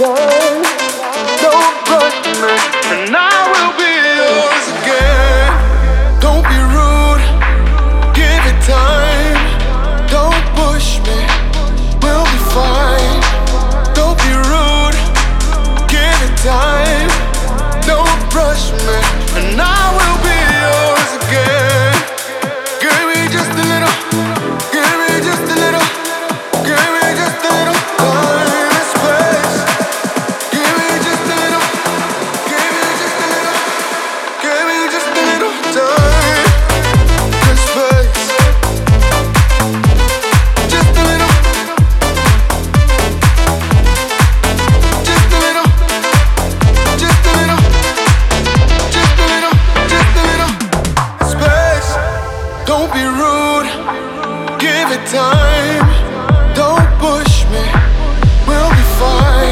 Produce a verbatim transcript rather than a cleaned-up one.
time. Don't rush me, and I will be yours again. Don't be rude, give it time. Don't push me, we'll be fine. Don't be rude, give it time. Don't rush me, and I will be yours again. Give me just a little, give me just a little, give me just a little time and space. Give me just a little, give me just a little, give me just a little time and space. Just a little, just a little, just a little, just a little, just a little space. Don't be rude, give it time. Don't push me, we'll be fine.